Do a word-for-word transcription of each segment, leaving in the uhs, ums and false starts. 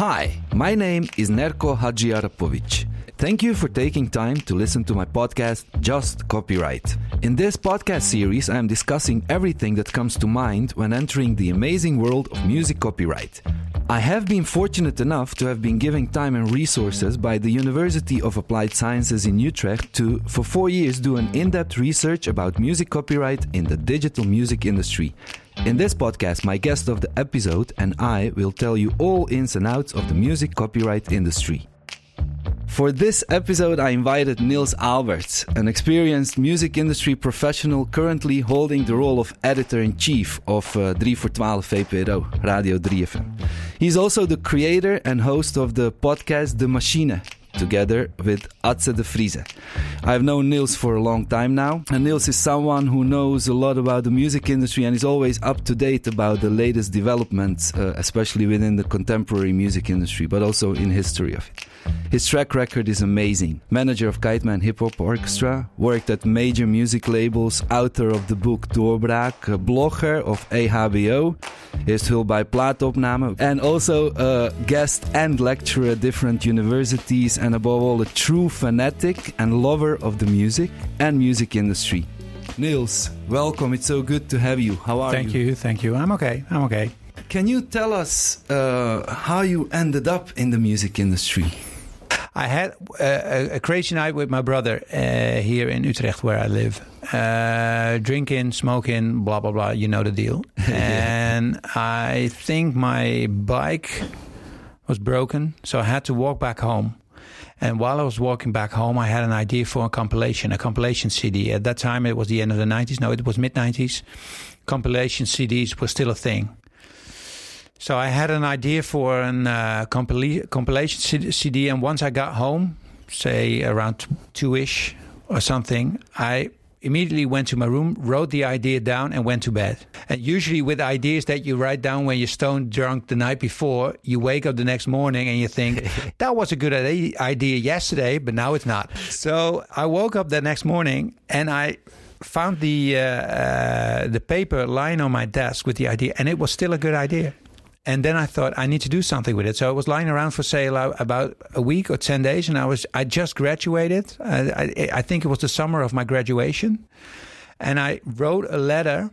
Hi, my name is Nerko Hadžiarapović. Thank you for taking time to listen to my podcast, Just Copyright. In this podcast series, I am discussing everything that comes to mind when entering the amazing world of music copyright. I have been fortunate enough to have been given time and resources by the University of Applied Sciences in Utrecht to, for four years, do an in-depth research about music copyright in the digital music industry. In this podcast, my guest of the episode and I will tell you all ins and outs of the music copyright industry. For this episode, I invited Niels Alberts, an experienced music industry professional currently holding the role of editor-in-chief of uh, drie voor twaalf V P R O, Radio drie F M. He's also the creator and host of the podcast De Machine, together with Atze de Vrieze. I've known Niels for a long time now, and Niels is someone who knows a lot about the music industry and is always up to date about the latest developments, uh, especially within the contemporary music industry, but also in history of it. His track record is amazing. Manager of Kiteman Hip Hop Orchestra, worked at major music labels, author of the book Doorbraak, a blogger of E H B O, heeft hulp bij plaatopname, and also a guest and lecturer at different universities, and above all a true fanatic and lover of the music and music industry. Niels, welcome. It's so good to have you. How are thank you? you? Thank you. I'm okay. I'm okay. Can you tell us uh, how you ended up in the music industry? I had a, a crazy night with my brother uh, here in Utrecht, where I live. Uh, drinking, smoking, blah, blah, blah. You know the deal. And I think my bike was broken, so I had to walk back home. And while I was walking back home, I had an idea for a compilation, a compilation C D. At that time, it was the end of the nineties. No, it was mid-nineties. Compilation C Ds were still a thing. So I had an idea for a uh, compila- compilation C D, and once I got home, say around two-ish or something, I immediately went to my room, wrote the idea down, and went to bed. And usually with ideas that you write down when you're stone drunk the night before, you wake up the next morning and you think, that was a good idea yesterday, but now it's not. So I woke up the next morning and I found the uh, uh, the paper lying on my desk with the idea, and it was still a good idea. And then I thought, I need to do something with it. So it was lying around for sale about a week or ten days. And I was I just graduated. I, I, I think it was the summer of my graduation. And I wrote a letter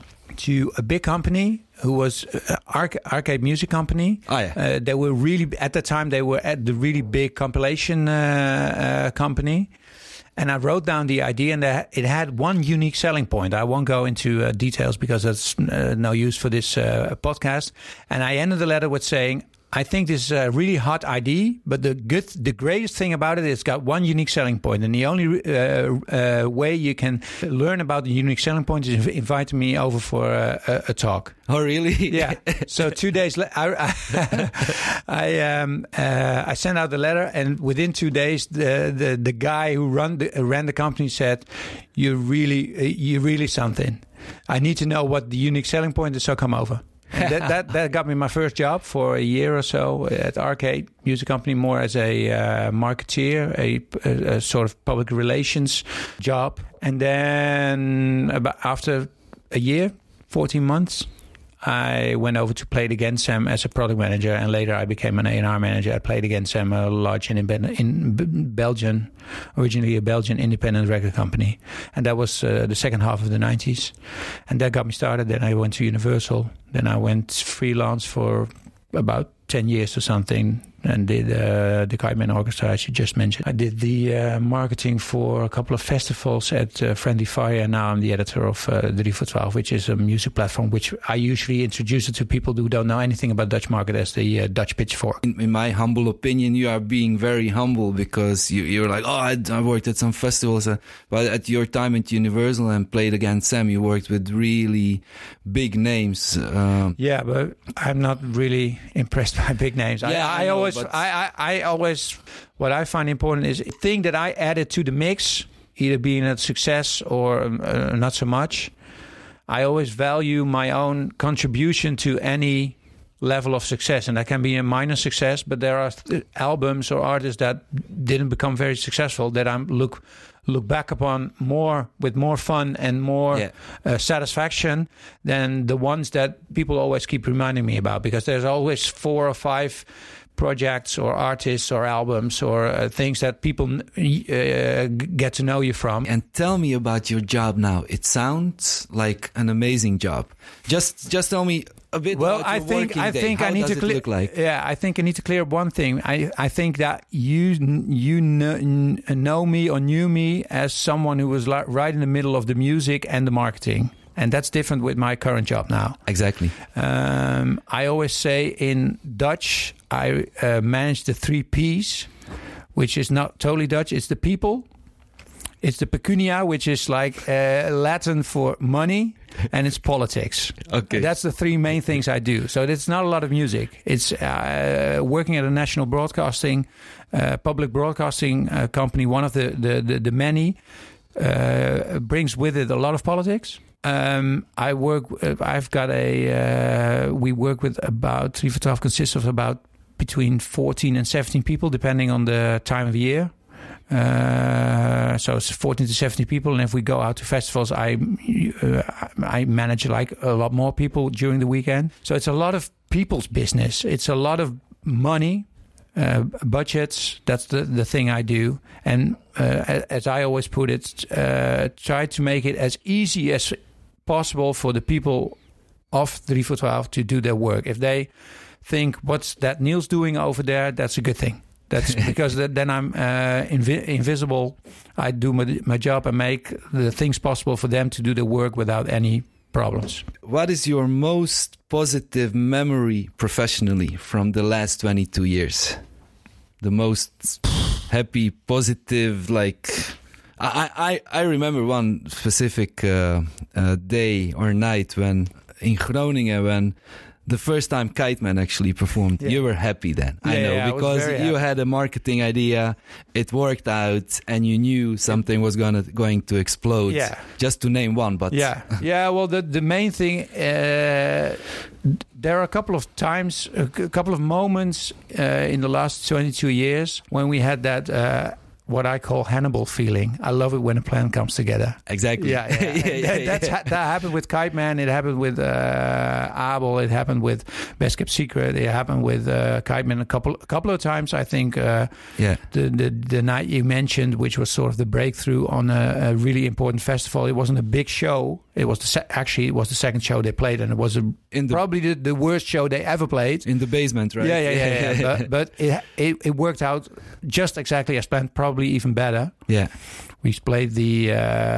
to a big company who was uh, Arc- Arcade Music Company. Oh, yeah. Uh, they were really, at the time, they were at the really big compilation uh, uh, company. And I wrote down the idea, and it had one unique selling point. I won't go into uh, details because that's uh, no use for this uh, podcast. And I ended the letter with saying, I think this is a really hot idea, but the good, the greatest thing about it is it's got one unique selling point. And the only uh, uh, way you can learn about the unique selling point is inviting me over for a, a, a talk. Oh, really? Yeah. So two days later, I I, I, um, uh, I sent out the letter, and within two days, the the, the guy who run the, ran the company said, "You really, uh, you really something. I need to know what the unique selling point is. So come over." And that, that that got me my first job for a year or so at Arcade Music Company, more as a uh, marketeer, a, a, a sort of public relations job. And then about after a year, fourteen months, I went over to Play It Again Sam as a product manager, and later I became an A and R manager at Play It Again Sam, a large independent in Belgium, originally a Belgian independent record company. And that was uh, the second half of the nineties. And that got me started. Then I went to Universal. Then I went freelance for about ten years or something, and did uh, the Kiteman Orchestra, as you just mentioned. I did the uh, marketing for a couple of festivals at uh, Friendly Fire, and now I'm the editor of uh, drie voor twaalf, which is a music platform which I usually introduce it to people who don't know anything about Dutch market as the uh, Dutch Pitchfork. In, in my humble opinion, you are being very humble because you, you're like, oh, I, I worked at some festivals, uh, but at your time at Universal and Played Again Sam, you worked with really big names. Uh, yeah, but I'm not really impressed by big names. Yeah, I, I, I know, always, but... I, I, I always, what I find important is the thing that I added to the mix, either being a success or uh, not so much. I always value my own contribution to any level of success, and that can be a minor success, but there are th- albums or artists that didn't become very successful that I look look back upon more with more fun and more Yeah. uh, satisfaction than the ones that people always keep reminding me about, because there's always four or five projects or artists or albums or uh, things that people uh, get to know you from. And tell me about your job now. It sounds like an amazing job. Just just tell me a bit Well, about I your think working I day. think How I need does to it clear. look like? Yeah, I think I need to clear up one thing. I I think that you you know, know me or knew me as someone who was like right in the middle of the music and the marketing. And that's different with my current job now. Exactly. Um, I always say in Dutch, I uh, manage the three P's, which is not totally Dutch. It's the people, it's the pecunia, which is like uh, Latin for money, and it's politics. Okay. And that's the three main things I do. So it's not a lot of music. It's uh, working at a national broadcasting, uh, public broadcasting uh, company, one of the, the, the, the many, uh, brings with it a lot of politics. Um, I work. Uh, I've got a. Uh, we work with about three for twelve consists of about between fourteen and seventeen people, depending on the time of year. Uh, so it's fourteen to seventeen people, and if we go out to festivals, I uh, I manage like a lot more people during the weekend. So it's a lot of people's business. It's a lot of money. Uh, budgets, that's the, the thing I do. And uh, as I always put it, uh, try to make it as easy as possible for the people of three for twelve to do their work. If they think, what's that Niels doing over there, that's a good thing. That's because th- then I'm uh, invi- invisible. I do my, my job and make the things possible for them to do their work without any problems. What is your most positive memory professionally from the last twenty-two years? The most happy, positive, like... I, I, I remember one specific uh, uh, day or night when in Groningen, when the first time Kite Man actually performed. Yeah. You were happy then, yeah, I know, yeah, because I you happy. had a marketing idea, it worked out, and you knew something was gonna going to explode. Yeah. Just to name one, but yeah, yeah. Well, the the main thing, uh, there are a couple of times, a c- couple of moments uh, in the last twenty-two years when we had that. Uh, What I call Hannibal feeling. I love it when a plan comes together. Exactly. Yeah, yeah. yeah, yeah, that, that's yeah. Ha- that happened with Kite Man. It happened with uh, Abel. It happened with Best Kept Secret. It happened with uh, Kite Man a couple a couple of times. I think. Uh, yeah. The, the the night you mentioned, which was sort of the breakthrough on a, a really important festival. It wasn't a big show. It was the se- actually it was the second show they played, and it was a, In the, probably the, the worst show they ever played. in the basement, right? Yeah, yeah, yeah. yeah, yeah. but but it, it it worked out just exactly as planned. Probably even better. Yeah. We played the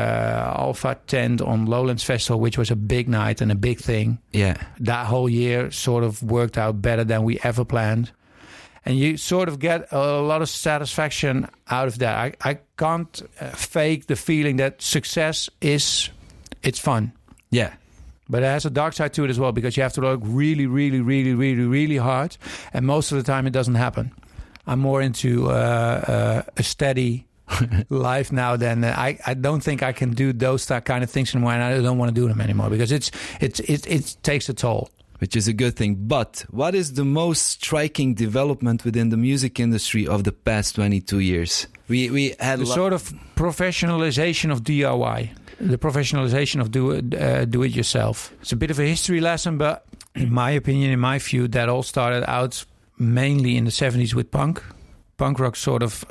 uh, Alpha tent on Lowlands Festival, which was a big night and a big thing. Yeah. That whole year sort of worked out better than we ever planned. And you sort of get a lot of satisfaction out of that. I, I can't uh, fake the feeling that success is, it's fun. Yeah. But it has a dark side to it as well, because you have to work really, really, really, really, really hard. And most of the time it doesn't happen. I'm more into uh, uh, a steady life now than uh, I, I don't think I can do those th- kind of things anymore, and I don't want to do them anymore because it's it's it, it takes a toll. Which is a good thing. But what is the most striking development within the music industry of the past twenty-two years? We we had The lo- sort of professionalization of D I Y, the professionalization of do it, uh, do it yourself. It's a bit of a history lesson, but in my opinion, in my view, that all started out mainly in the seventies with punk. Punk rock sort of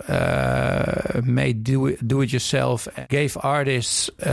uh, made do it, do it yourself, gave artists uh,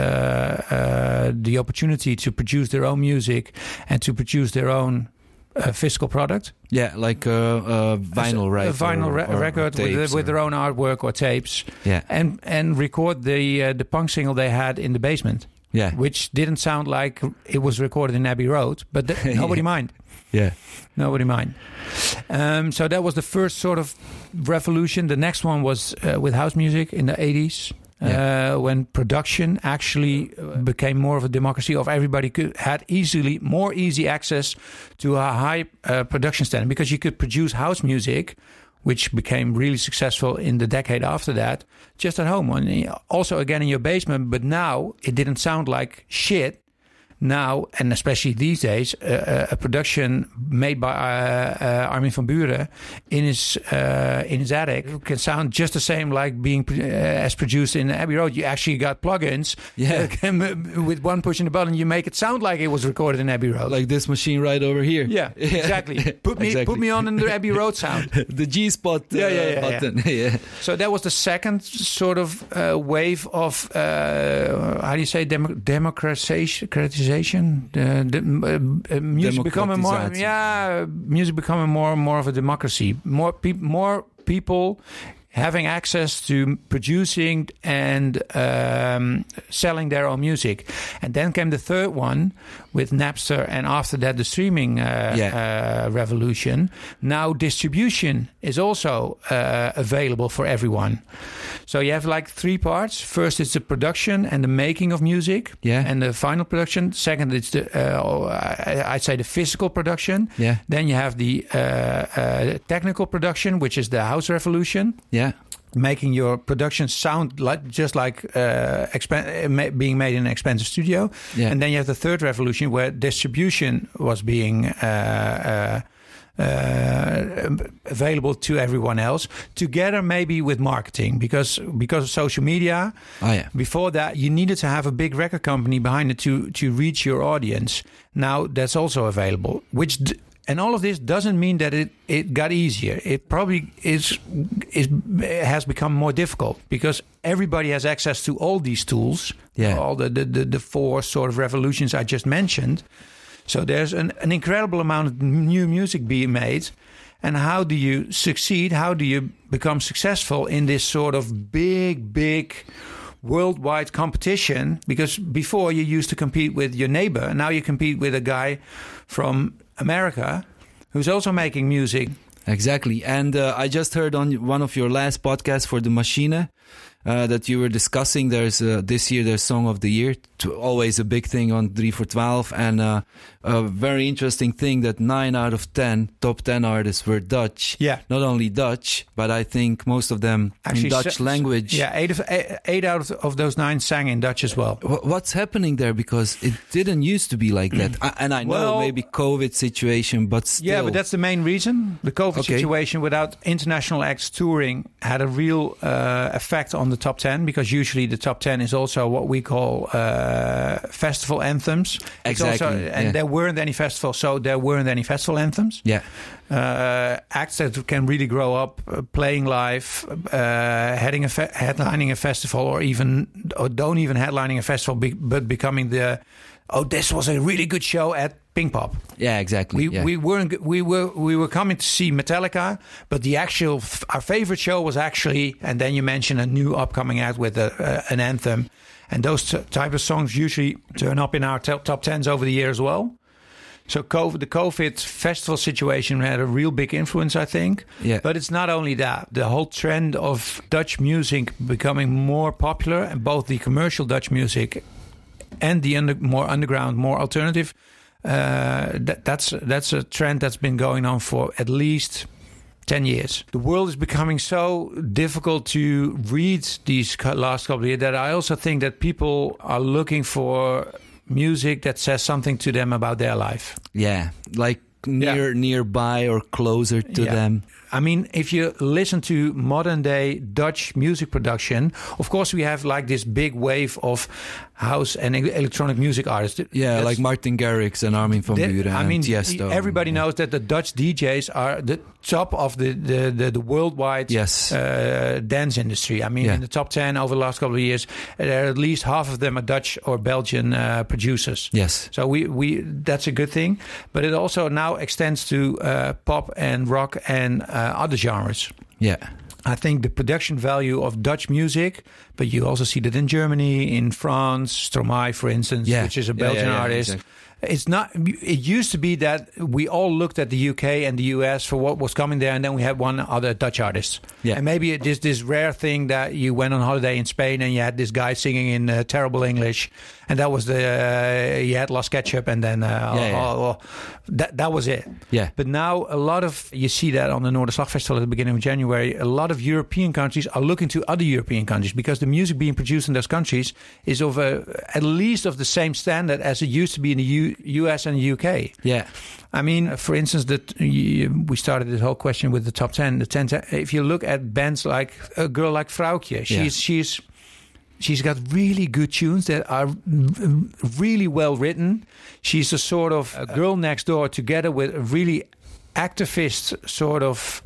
uh, the opportunity to produce their own music and to produce their own uh, physical product. Yeah, like a, a vinyl, right? A vinyl or, re- or record tapes with, with or- their own artwork or tapes. Yeah. And and record the uh, the punk single they had in the basement. Yeah. Which didn't sound like it was recorded in Abbey Road, but th- nobody mind. Yeah. Nobody mind. Um, so that was the first sort of revolution. The next one was uh, with house music in the eighties. Yeah. Uh, when production actually uh, became more of a democracy, of everybody could had easily more easy access to a high uh, production standard, because you could produce house music, which became really successful in the decade after that, just at home, and also again in your basement. But now it didn't sound like shit. now, and especially these days, uh, a production made by uh, uh, Armin van Buuren in his uh, in his attic can sound just the same like being uh, as produced in Abbey Road. You actually got plugins. Yeah. Can, with one pushing the button, you make it sound like it was recorded in Abbey Road. Like this machine right over here. Yeah, exactly. Put me exactly. put me on in the Abbey Road sound. The G spot uh, yeah, yeah, yeah, button. Yeah. yeah. So that was the second sort of uh, wave of uh, how do you say dem- democratization? The, the, uh, music becoming more, yeah, music becoming more and more of a democracy. More people, more people having access to producing and um, selling their own music. And then came the third one with Napster, and after that the streaming uh, yeah. uh, revolution. Now distribution is also uh, available for everyone. So you have like three parts. First is the production and the making of music, yeah. and the final production. Second, it's the uh, I'd say the physical production. Yeah. Then you have the uh, uh, technical production, which is the house revolution. Yeah. Making your production sound like just like uh, exp- being made in an expensive studio. Yeah. And then you have the third revolution where distribution was being uh, uh, uh, available to everyone else, together maybe with marketing, because because of social media. Oh, yeah. Before that, you needed to have a big record company behind it to to reach your audience. Now that's also available, which. D- And all of this doesn't mean that it, it got easier. It probably is, is has become more difficult because everybody has access to all these tools, yeah. all the, the, the, the four sort of revolutions I just mentioned. So there's an, an incredible amount of new music being made. And how do you succeed? How do you become successful in this sort of big, big worldwide competition? Because before you used to compete with your neighbor. Now you compete with a guy from America who's also making music. Exactly. And uh, I just heard on one of your last podcasts for the Machine uh, that you were discussing there's uh, this year there's Song of the Year, to, always a big thing on three for twelve, and uh, a very interesting thing that nine out of ten top ten artists were Dutch. Yeah. Not only Dutch, but I think most of them Actually, in Dutch so, language. Yeah, eight, of, eight, eight out of, of those nine sang in Dutch as well. What's happening there? Because it didn't used to be like that. I, and I know well, maybe COVID situation, but still. Yeah, but that's the main reason. The COVID okay. situation without international acts touring had a real uh, effect on the top ten, because usually the top ten is also what we call uh, festival anthems. Exactly. Also, and yeah. there weren't any festivals, so there weren't any festival anthems. Yeah. Uh, acts that can really grow up uh, playing live, uh, heading a fe- headlining a festival, or even or don't even headlining a festival, be- but becoming the oh, this was a really good show at Pinkpop. Yeah, exactly. We yeah. we weren't we were we were coming to see Metallica, but the actual our favorite show was actually, and then you mention a new upcoming act with a, uh, an anthem, and those t- type of songs usually turn up in our t- top tens over the year as well. So COVID, the COVID festival situation had a real big influence, I think. Yeah. But it's not only that. The whole trend of Dutch music becoming more popular, and both the commercial Dutch music and the under, more underground, more alternative, uh, that, that's that's a trend that's been going on for at least ten years. The world is becoming so difficult to read these last couple of years that I also think that people are looking for music that says something to them about their life. Yeah, like near yeah. nearby or closer to yeah. them. I mean, if you listen to modern day Dutch music production, of course we have like this big wave of house and electronic music artists. Yeah, That's, like Martin Garrix and Armin van Buuren. I mean, Tiesto. Everybody yeah. knows that the Dutch D Js are the top of the the, the, the worldwide yes. uh, dance industry. I mean, yeah. in the top ten over the last couple of years, there are at least half of them are Dutch or Belgian uh, producers. Yes. So we, we that's a good thing. But it also now extends to uh, pop and rock and uh, other genres. Yeah. I think the production value of Dutch music, but you also see that in Germany, in France, Stromae, for instance, yeah. which is a yeah, Belgian yeah, yeah, artist. exactly. it's not. It used to be that we all looked at the U K and the U S for what was coming there, and then we had one other Dutch artist. Yeah. And maybe it is this rare thing that you went on holiday in Spain and you had this guy singing in uh, terrible English, and that was the uh, you had Lost Ketchup, and then uh, yeah, yeah. Oh, oh, that that was it. Yeah. But now a lot of you see that on the Noorderslag Festival at the beginning of January. A lot of European countries are looking to other European countries because the music being produced in those countries is of a, at least of the same standard as it used to be in the U, U.S. and the U K. Yeah. I mean, for instance, that we started this whole question with the top ten. The ten. If you look at bands like a girl like Vrouwtje, she's Yeah. she's she's got really good tunes that are really well written. She's a sort of a girl next door, together with a really activist sort of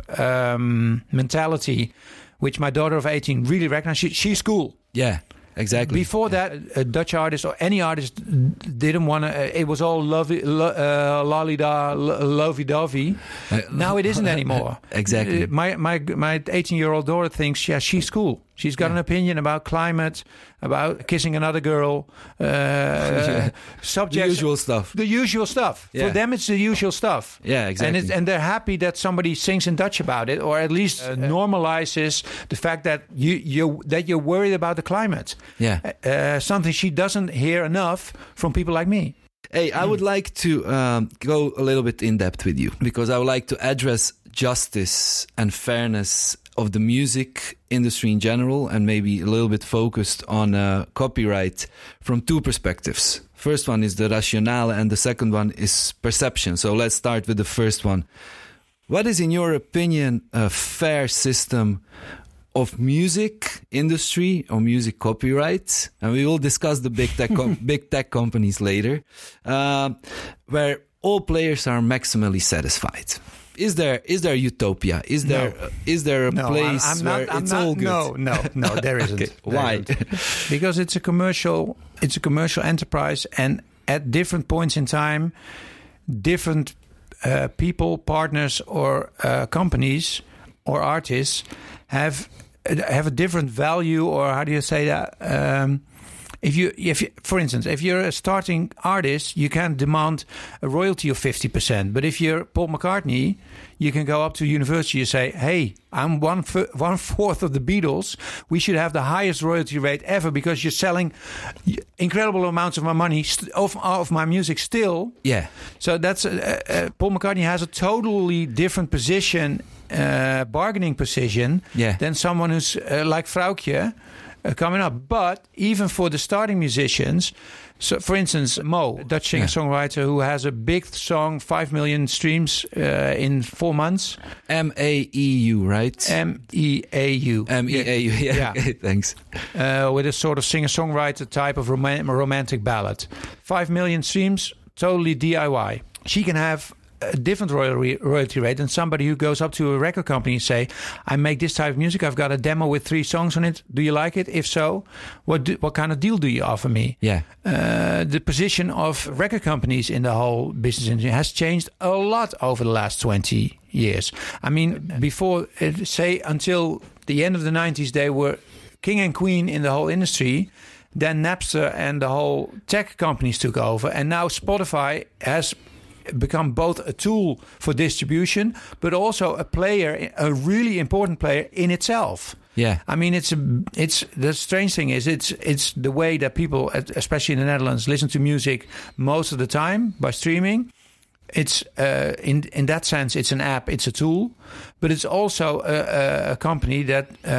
um, mentality, which my daughter of eighteen really recognized. She, she's cool. Yeah. Exactly. Before that, a Dutch artist or any artist didn't want to. Uh, it was all lovey, lo, uh, lolly-da, lo- lovey-dovey. Uh, now it isn't anymore. Exactly. Uh, my my my eighteen-year-old daughter thinks, yeah, she's cool. She's got Yeah. an opinion about climate, about kissing another girl, uh, Yeah. subjects, The usual stuff. The usual stuff. Yeah. For them, it's the usual stuff. Yeah, exactly. And it's, and they're happy that somebody sings in Dutch about it, or at least uh, normalizes the fact that you you that you're worried about the climate. Yeah. Uh, something she doesn't hear enough from people like me. Hey, I would like to um, go a little bit in depth with you, because I would like to address justice and fairness of the music industry in general, and maybe a little bit focused on uh, copyright from two perspectives. First one is the rationale, and the second one is perception. So let's start with the first one. What is, in your opinion, a fair system of music industry or music copyright? And we will discuss the big tech com- big tech companies later, uh, where all players are maximally satisfied. Is there is there utopia? Is there No. uh, is there a No, place I'm, I'm where not, I'm it's not, all good? No, no, no, there isn't. Okay, There why? isn't. Because it's a commercial, it's a commercial enterprise, and at different points in time, different uh, people, partners, or uh, companies or artists have have a different value, or how do you say that? Um, If you, if you, for instance, if you're a starting artist, you can demand a royalty of fifty percent. But if you're Paul McCartney, you can go up to university and say, "Hey, I'm one f- one fourth of the Beatles. We should have the highest royalty rate ever because you're selling incredible amounts of my money st- of of my music still." Yeah. So that's uh, uh, Paul McCartney has a totally different position, uh, bargaining position, Yeah. than someone who's uh, like Vrouwtje. Uh, coming up, but even for the starting musicians, so for instance, Mo, Dutch singer-songwriter who has a big song, five million streams uh, in four months. M A E U, right? M E A U. M E A U, yeah. Yeah. Okay, thanks. Uh, with a sort of singer-songwriter type of rom- romantic ballad. Five million streams, totally D I Y. She can have a different royalty royalty rate than somebody who goes up to a record company and say, I make this type of music, I've got a demo with three songs on it, do you like it? If so, what do, what kind of deal do you offer me? Yeah. Uh, the position of record companies in the whole business industry has changed a lot over the last twenty years. I mean, before, uh, say, until the end of the nineties, they were king and queen in the whole industry. Then Napster and the whole tech companies took over, and now Spotify has become both a tool for distribution, but also a player, a really important player in itself. Yeah. I mean, it's a, it's the strange thing is it's it's the way that people, especially in the Netherlands, listen to music most of the time by streaming. It's uh, in in that sense, it's an app, it's a tool, but it's also a, a company that uh,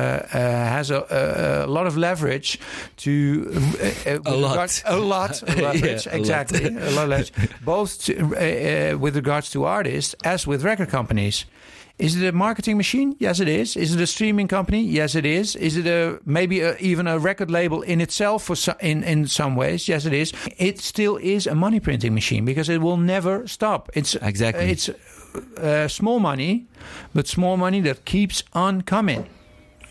uh, has a, a, a lot of leverage to uh, uh, a, lot. regard, a lot of leverage, yeah, a exactly, lot. a lot of leverage, both to, uh, uh, with regards to artists as with record companies. Is it a marketing machine? Yes, it is. Is it a streaming company? Yes, it is. Is it a maybe a, even a record label in itself for so, in in some ways? Yes, it is. It still is a money printing machine because it will never stop. It's Exactly. It's uh, small money, but small money that keeps on coming.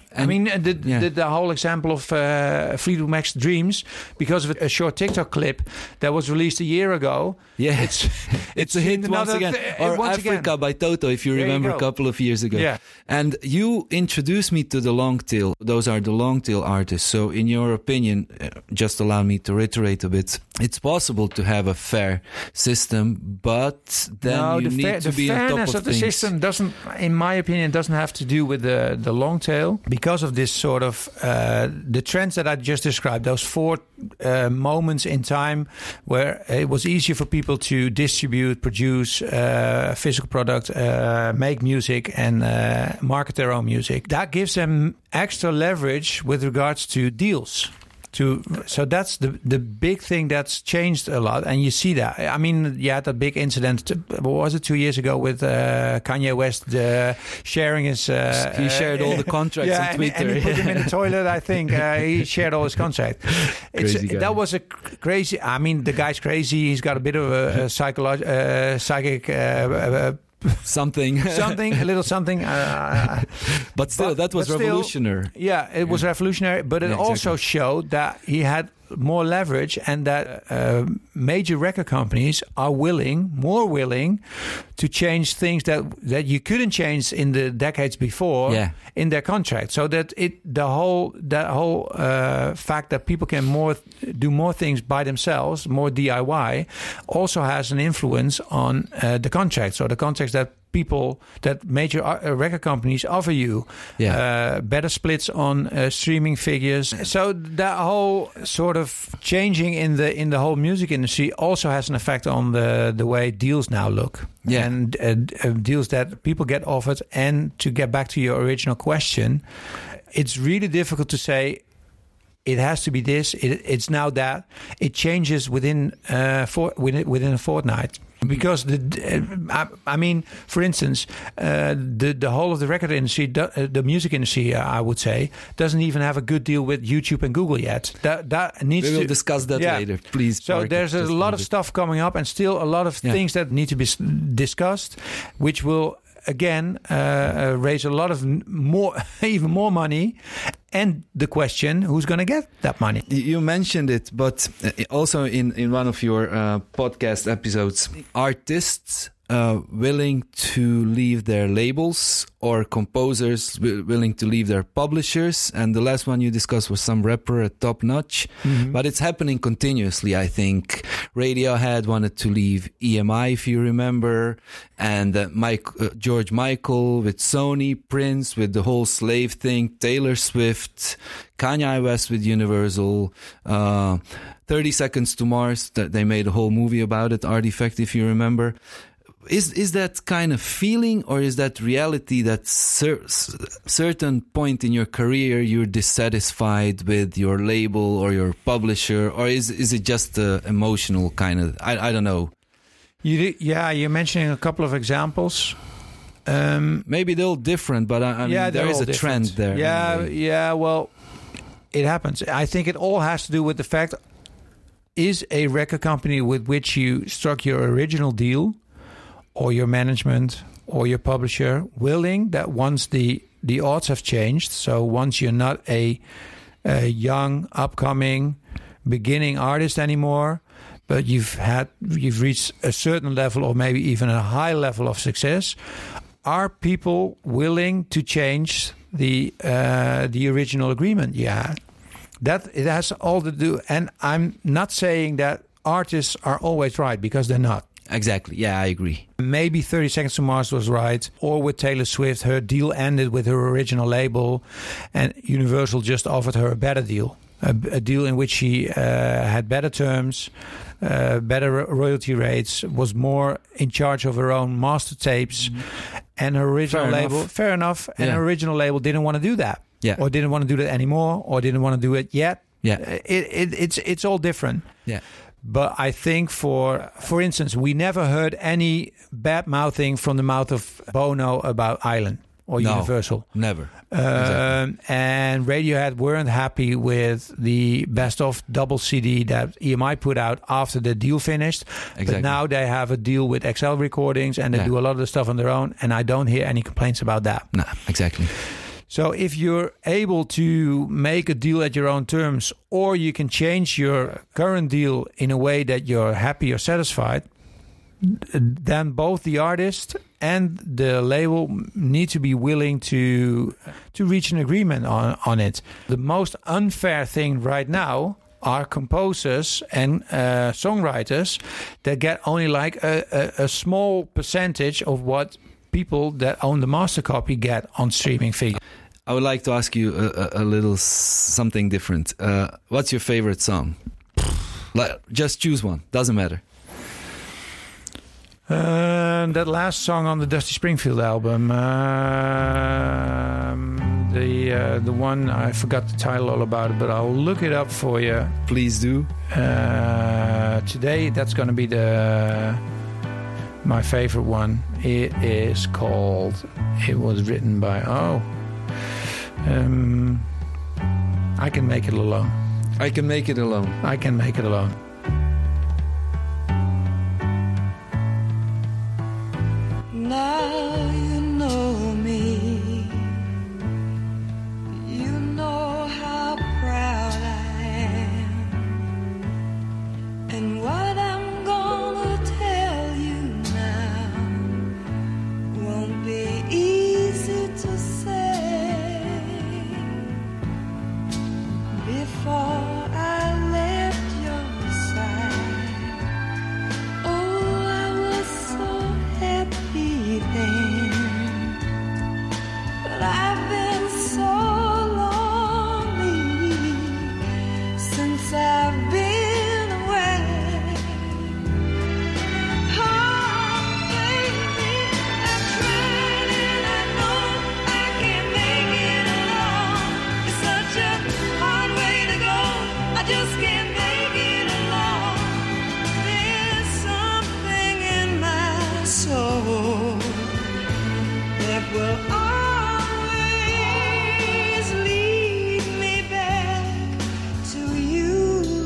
And I mean, the, yeah. the, the whole example of uh, Fleetwood Mac's Dreams, because of a short TikTok clip that was released a year ago. Yeah, it's it's, it's a hit once again. Th- or once Africa again. by Toto, if you there remember, you a couple of years ago. Yeah. And you introduced me to the long tail. Those are the long tail artists. So in your opinion, uh, just allow me to reiterate a bit. It's possible to have a fair system, but then no, you the need fair, to the be on top of fairness of the things. system doesn't, in my opinion, doesn't have to do with the, the long tail. Because of this sort of, uh, the trends that I just described, those four uh, moments in time where it was easier for people to distribute, produce uh, a physical product, uh, make music and uh, market their own music. That gives them extra leverage with regards to deals. To, so that's the the big thing that's changed a lot, and you see that. I mean, yeah, that big incident. What was it? Two years ago with uh, Kanye West uh, sharing his. Uh, he shared all the contracts yeah, on Twitter, and, and he put him in the toilet. I think uh, he shared all his contract. It's, crazy guy. That was a crazy. I mean, the guy's crazy. He's got a bit of a, a psychological, uh, psychic. Uh, uh, something something a little something uh, but still but, that was revolutionary still, yeah it yeah. was revolutionary, but it yeah, exactly. also showed that he had more leverage, and that uh, major record companies are willing more willing to change things that that you couldn't change in the decades before yeah. in their contract, so that it the whole that whole uh, fact that people can more do more things by themselves, more D I Y, also has an influence on uh, the contracts or the contracts that people that major uh, record companies offer you. Yeah. Uh, better splits on uh, streaming figures. So that whole sort of changing in the in the whole music industry also has an effect on the the way deals now look. Yeah. And uh, uh, deals that people get offered. And to get back to your original question, it's really difficult to say it has to be this, it, it's now that. It changes within uh, for, within, within a fortnight. Because the, uh, I, I mean, for instance, uh, the the whole of the record industry, the, uh, the music industry, uh, I would say, doesn't even have a good deal with YouTube and Google yet. That that needs. We will to, discuss that yeah. later, please. So Mark, there's a lot of stuff coming up, and still a lot of yeah. things that need to be discussed, which will again uh, uh, raise a lot of more, even more money. And the question, who's going to get that money? You mentioned it, but also in, in one of your uh, podcast episodes, artists uh, willing to leave their labels or composers w- willing to leave their publishers. And the last one you discussed was some rapper at Top Notch. Mm-hmm. But it's happening continuously, I think. Radiohead wanted to leave E M I, if you remember. And uh, Mike, uh, George Michael with Sony, Prince with the whole slave thing, Taylor Swift, Kanye West with Universal, uh, thirty Seconds to Mars. That they made a whole movie about it, Artifact, if you remember. Is is that kind of feeling, or is that reality that cer- certain point in your career you're dissatisfied with your label or your publisher, or is is it just uh, emotional kind of? I I don't know. You yeah, you're mentioning a couple of examples. Um, Maybe they're all different, but I, I yeah, mean, there is a different. trend there. Yeah, anyway. yeah. Well, it happens. I think it all has to do with the fact: is a record company with which you struck your original deal, or your management, or your publisher, willing that once the, the odds have changed, so once you're not a, a young, upcoming, beginning artist anymore, but you've had you've reached a certain level or maybe even a high level of success, are people willing to change the uh, the original agreement you had? That it has all to do, and I'm not saying that artists are always right, because they're not. Exactly. Yeah, I agree. Maybe thirty Seconds to Mars was right. Or with Taylor Swift, her deal ended with her original label, and Universal just offered her a better deal. A, a deal in which she uh, had better terms, uh, better royalty rates, was more in charge of her own master tapes, mm-hmm. and her original fair label, enough. fair enough, and yeah. her original label didn't want to do that. Yeah. Or didn't want to do that anymore, or didn't want to do it yet. Yeah. It, it, it's, it's all different. Yeah. But I think, for for instance, we never heard any bad mouthing from the mouth of Bono about Island or no, Universal. Never. Um, exactly. And Radiohead weren't happy with the best of double C D that E M I put out after the deal finished. Exactly. But now they have a deal with X L Recordings, and they yeah. do a lot of the stuff on their own. And I don't hear any complaints about that. No, exactly. So if you're able to make a deal at your own terms, or you can change your current deal in a way that you're happy or satisfied, then both the artist and the label need to be willing to to reach an agreement on, on it. The most unfair thing right now are composers and uh, songwriters that get only like a, a, a small percentage of what people that own the master copy get on streaming figures. I would like to ask you a, a, a little s- something different. Uh, what's your favorite song? Like, just choose one. Doesn't matter. Uh, that last song on the Dusty Springfield album, um, the uh, the one, I forgot the title all about it, but I'll look it up for you. Please do. Uh, today, that's going to be the my favorite one. It is called. It was written by oh, um, I Can Make It Alone. I Can Make It Alone. I Can Make It Alone. Now you know me, you know how proud I am, and what I'm gonna tell you now won't be easy to say. Before I left your side, oh, I was so happy then, but I've been so lonely since I've been away. Oh, baby, I've tried and I know I can't make it alone. It's such a hard way to go, I just can't make it alone. There's something in my soul that will always lead me back to you.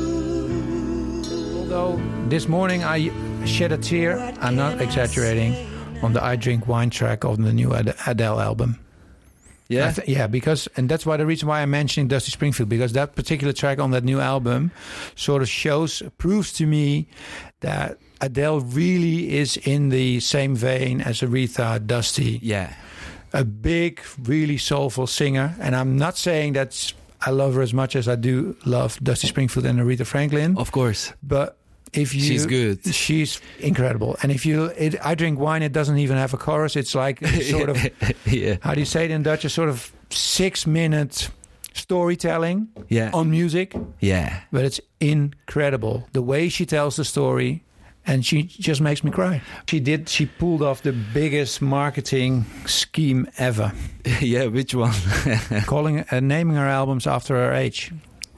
Although this morning I shed a tear, I'm not exaggerating, on the I Drink Wine track of the new Ad- Adele album. Yeah. I th- yeah, because, and that's why the reason why I'm mentioning Dusty Springfield, because that particular track on that new album sort of shows, proves to me that Adele really is in the same vein as Aretha, Dusty. Yeah. A big, really soulful singer. And I'm not saying that I love her as much as I do love Dusty Springfield and Aretha Franklin. Of course. But if you, She's good. She's incredible. And if you, it, I Drink Wine, it doesn't even have a chorus. It's like a sort of, Yeah. how do you say it in Dutch? A sort of six minute storytelling Yeah. on music. Yeah. But it's incredible. The way she tells the story. And she just makes me cry. She did, she pulled off the biggest marketing scheme ever. Yeah, which one? Calling, uh, naming her albums after her age.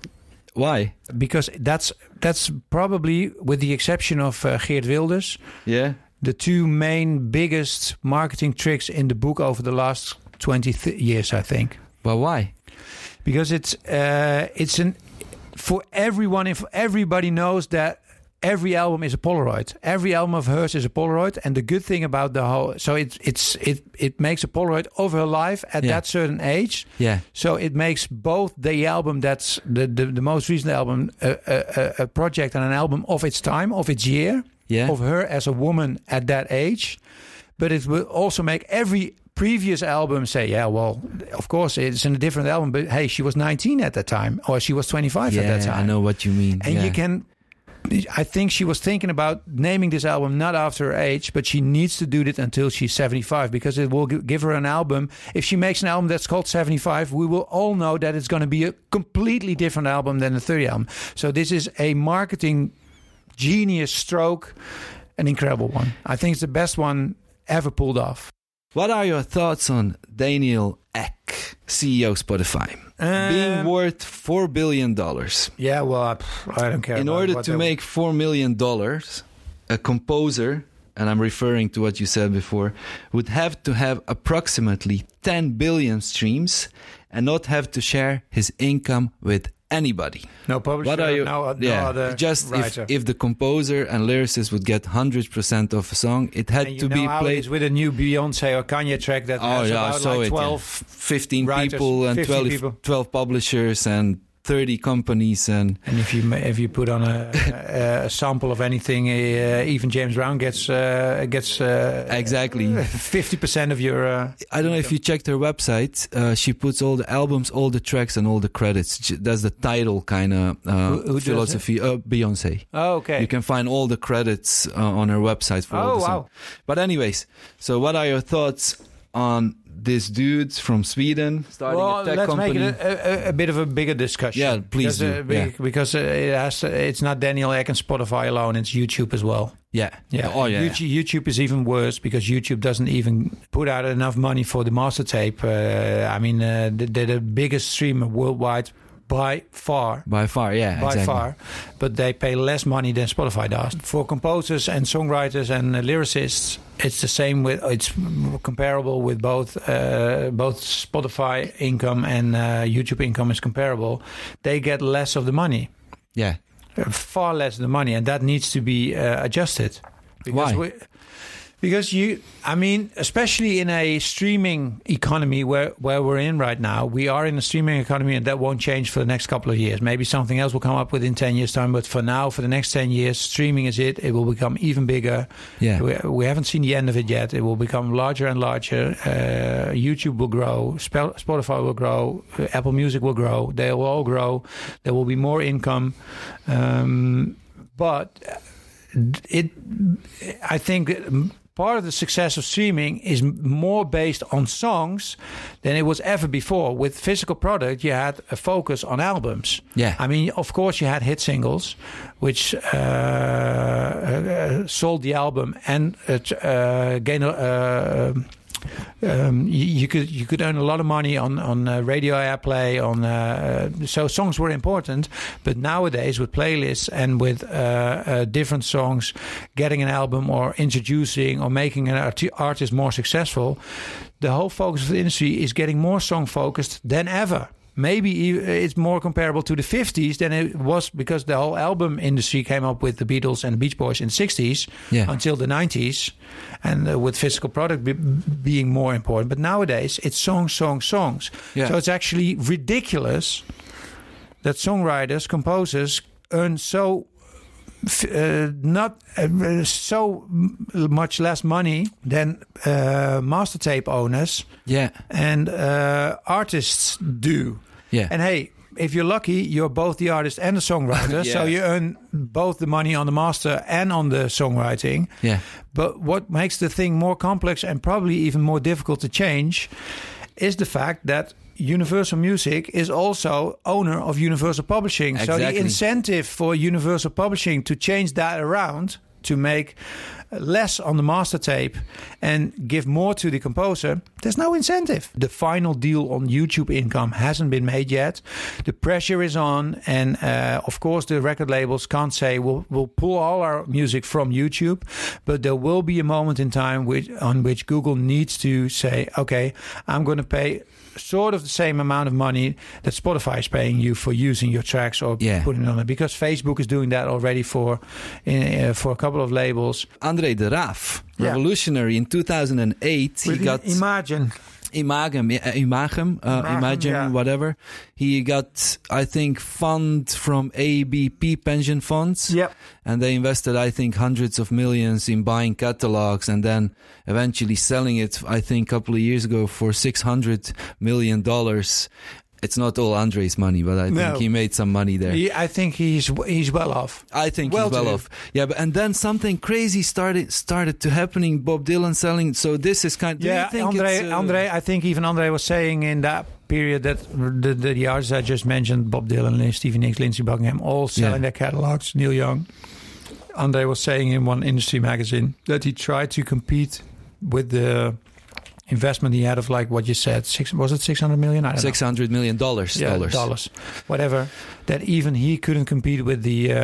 Why? Because that's that's probably, with the exception of uh, Geert Wilders, Yeah. the two main biggest marketing tricks in the book over the last twenty th- years, I think. Well, why? Because it's uh, it's an for everyone, if everybody knows that every album is a Polaroid. Every album of hers is a Polaroid, and the good thing about the whole, so it it's it it makes a Polaroid of her life at Yeah. that certain age. Yeah. So it makes both the album that's the the, the most recent album a, a, a project and an album of its time, of its year, Yeah. of her as a woman at that age. But it will also make every previous album say, yeah, well, of course it's in a different album, but hey, she was nineteen at that time, or she was twenty-five at that Yeah, time. I know what you mean. And Yeah. you can, I think she was thinking about naming this album not after her age, but she needs to do it until she's seventy-five, because it will gi- give her an album. If she makes an album that's called seventy-five, we will all know that it's going to be a completely different album than the thirty album. So this is a marketing genius stroke, an incredible one. I think it's the best one ever pulled off. What are your thoughts on Daniel Ek, C E O Spotify, Uh, being worth four billion dollars? Yeah, well, pff, I don't care. In about order what to they- make four million dollars, a composer, and I'm referring to what you said before, would have to have approximately ten billion streams and not have to share his income with anybody. No publisher, What are you? no, no yeah, other just if, writer. if the composer and lyricist would get one hundred percent of a song, it had And you to know be how it played. is with a new Beyonce or Kanye track that Oh has yeah, I about saw like it. twelve. Yeah. fifteen writers, people and fifty twelve, people. twelve publishers and thirty companies and And if you ma- if you put on a, a, a sample of anything, uh, even James Brown gets uh, gets uh, exactly. fifty percent of your. Uh, I don't know if you checked her website. Uh, she puts all the albums, all the tracks, and all the credits. J- That's the title kind of uh, Who- who does philosophy. Uh, Beyonce. oh, okay. You can find all the credits uh, on her website for all oh the wow. songs. But anyways, so what are your thoughts on this dude from Sweden starting Well, a tech let's company? make it a, a, a bit of a bigger discussion. Yeah, please because, do. Uh, be- Yeah. because uh, it has. It's not Daniel Ek and Spotify alone. It's YouTube as well. yeah. Yeah. Oh yeah. YouTube, YouTube is even worse because YouTube doesn't even put out enough money for the master tape. Uh, I mean, uh, they're the biggest streamer worldwide by far. By far, yeah. By exactly. far, but they pay less money than Spotify does. For composers and songwriters and uh, lyricists, it's the same. With it's comparable with both. Uh, both Spotify income and uh, YouTube income is comparable. They get less of the money, Yeah. uh, far less of the money, and that needs to be uh, adjusted. Why? We, because you, I mean, especially in a streaming economy where, where we're in right now, we are in a streaming economy and that won't change for the next couple of years. Maybe something else will come up within ten years' time, but for now, for the next ten years, streaming is it. It will become even bigger. Yeah. We, we haven't seen the end of it yet. It will become larger and larger. Uh, YouTube will grow. Sp- Spotify will grow. Uh, Apple Music will grow. They will all grow. There will be more income. Um, but it, I think part of the success of streaming is more based on songs than it was ever before. With physical product, you had a focus on albums. Yeah. I mean, of course, you had hit singles, which uh, uh, sold the album and uh, uh, gained. Uh, Um, you, you could you could earn a lot of money on on uh, radio airplay. On uh, so songs were important, but nowadays with playlists and with uh, uh, different songs, getting an album or introducing or making an art- artist more successful, the whole focus of the industry is getting more song focused than ever. Maybe it's more comparable to the fifties than it was because the whole album industry came up with the Beatles and the Beach Boys in the sixties Yeah. until the nineties, and uh, with physical product be- being more important. But nowadays, it's songs, songs, songs. Yeah. So it's actually ridiculous that songwriters, composers earn so uh, not uh, so much less money than uh, master tape owners Yeah. and uh, artists do. Yeah. And hey, if you're lucky, you're both the artist and the songwriter. Yeah. So you earn both the money on the master and on the songwriting. Yeah. But what makes the thing more complex and probably even more difficult to change is the fact that Universal Music is also owner of Universal Publishing. So the Exactly. incentive for Universal Publishing to change that around, to make less on the master tape and give more to the composer, there's no incentive. The final deal on YouTube income hasn't been made yet. The pressure is on, and uh, of course the record labels can't say we'll, we'll pull all our music from YouTube, but there will be a moment in time which, on which Google needs to say, okay, I'm going to pay sort of the same amount of money that Spotify is paying you for using your tracks or Yeah. putting it on it, because Facebook is doing that already for uh, for a couple of labels. Andre de Raaf, Yeah. revolutionary in two thousand eight. He got Imagine. Imagem, yeah, Imagem, uh, Imagem, Imagem, yeah. whatever. He got, I think, fund from A B P pension funds. Yep. And they invested, I think, hundreds of millions in buying catalogs and then eventually selling it, I think, a couple of years ago for six hundred million dollars. It's not all Andre's money, but I think No. he made some money there. He, I think he's he's well off. I think Well he's well to do. off. Yeah, but and then something crazy started started to happening. Bob Dylan selling. So this is kind. Do Yeah, you think Andre. it's, uh, Andre. I think even Andre was saying in that period that the the, the artists I just mentioned, Bob Dylan, Stevie Nicks, Lindsey Buckingham, all selling Yeah. their catalogs. Neil Young. Andre was saying in one industry magazine that he tried to compete with the investment he had of, like what you said, six was it six hundred million? I don't know. Six hundred million dollars. Yeah, dollars. dollars, whatever. That even he couldn't compete with the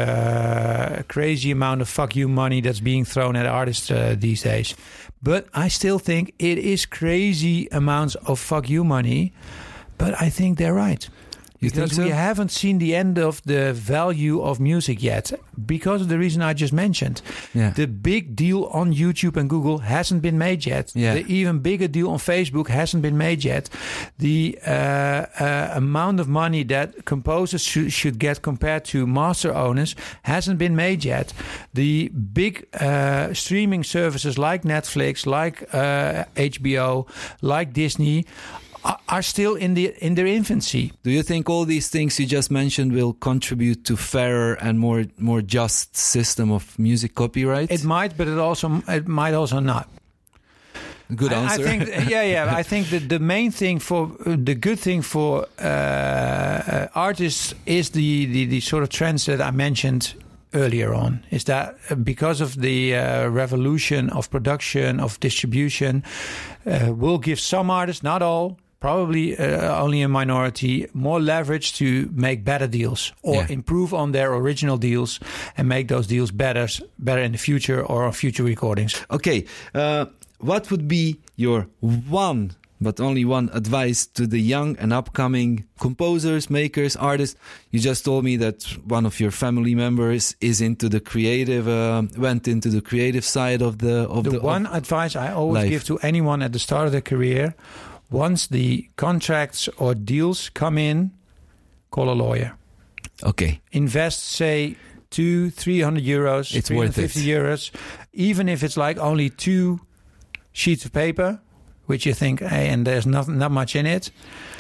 uh, crazy amount of fuck you money that's being thrown at artists uh, these days. But I still think it is crazy amounts of fuck you money. But I think they're right. You because think so? we haven't seen the end of the value of music yet, because of the reason I just mentioned. Yeah. The big deal on YouTube and Google hasn't been made yet. Yeah. The even bigger deal on Facebook hasn't been made yet. The uh, uh, amount of money that composers should, should get compared to master owners hasn't been made yet. The big uh, streaming services like Netflix, like uh, H B O, like Disney are still in the in their infancy. Do you think all these things you just mentioned will contribute to fairer and more more just system of music copyright? It might, but it also it might also not. Good I- answer. I think, yeah, yeah. I think that the main thing for the good thing for uh, uh, artists is the, the the sort of trends that I mentioned earlier on. Is that because of the uh, revolution of production, of distribution, uh, will give some artists, not all, probably uh, only a minority, more leverage to make better deals or Yeah. improve on their original deals and make those deals better, better in the future or on future recordings. Okay, uh, what would be your one, but only one advice to the young and upcoming composers, makers, artists? You just told me that one of your family members is into the creative, uh, went into the creative side of the of The the one of advice I always life. give to anyone at the start of their career, once the contracts or deals come in, call a lawyer. Okay, Invest, say, two, three hundred euros, It's three hundred fifty worth it. euros, even if it's like only two sheets of paper, which you think, hey, and there's not not much in it.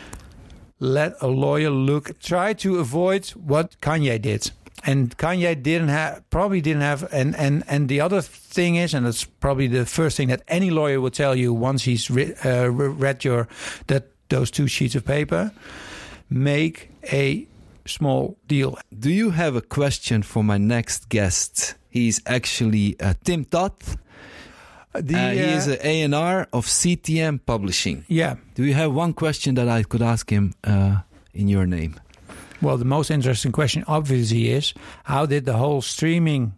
Let a lawyer look. Try to avoid what Kanye did. And Kanye didn't have, probably didn't have, and, and, and the other thing is, and it's probably the first thing that any lawyer will tell you once he's re, uh, re- read your that those two sheets of paper, make a small deal. do you have a question for my next guest? He's actually uh, Tim Toth. The, Uh, he uh, is an A and R of C T M Publishing. yeah. Do you have one question that I could ask him uh, in your name? Well, the most interesting question obviously is, how did the whole streaming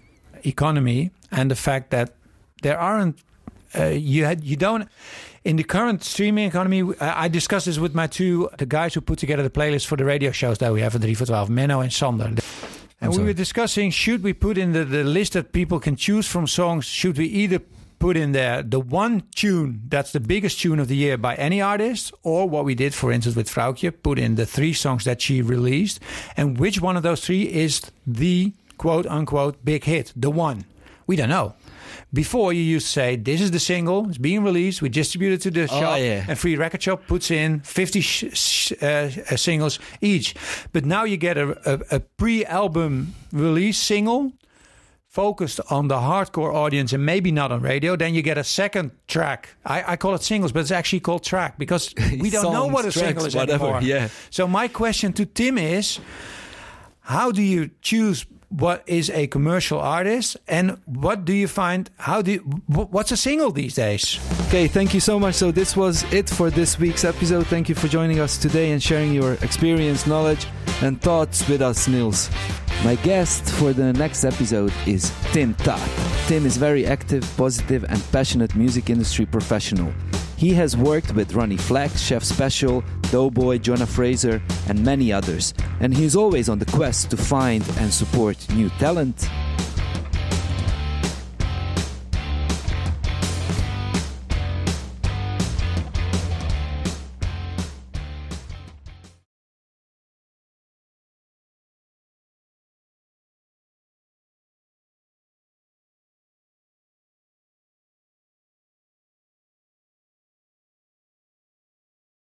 economy and the fact that there aren't uh, you had you don't in the current streaming economy, I I discussed this with my two the guys who put together the playlist for the radio shows that we have at three for twelve, Menno and Sander. And we sorry. were discussing, should we put in the, the list that people can choose from songs, should we either put in there the one tune that's the biggest tune of the year by any artist, or what we did, for instance, with Vrouwtje, put in the three songs that she released, and which one of those three is the quote-unquote big hit, the one? We don't know. Before, you used to say, this is the single, it's being released, we distribute it to the Oh, shop, yeah. and Free Record Shop puts in fifty sh- sh- uh, uh, singles each. But now you get a, a, a pre-album release single focused on the hardcore audience and maybe not on radio. Then you get a second track. I, I call it singles, but it's actually called track because we don't know Songs, what a tracks, single is whatever, anymore. yeah. So my question to Tim is, how do you choose what is a commercial artist, and what do you find, how do you, wh- what's a single these days? Okay, thank you so much. So this was it for this week's episode. Thank you for joining us today and sharing your experience, knowledge, and thoughts with us, Niels. My guest for the next episode is Tim Toth. Tim is very active, positive, and passionate music industry professional. He has worked with Ronnie Flex, Chef Special, Doughboy, Jonah Fraser, and many others. And he is always on the quest to find and support new talent.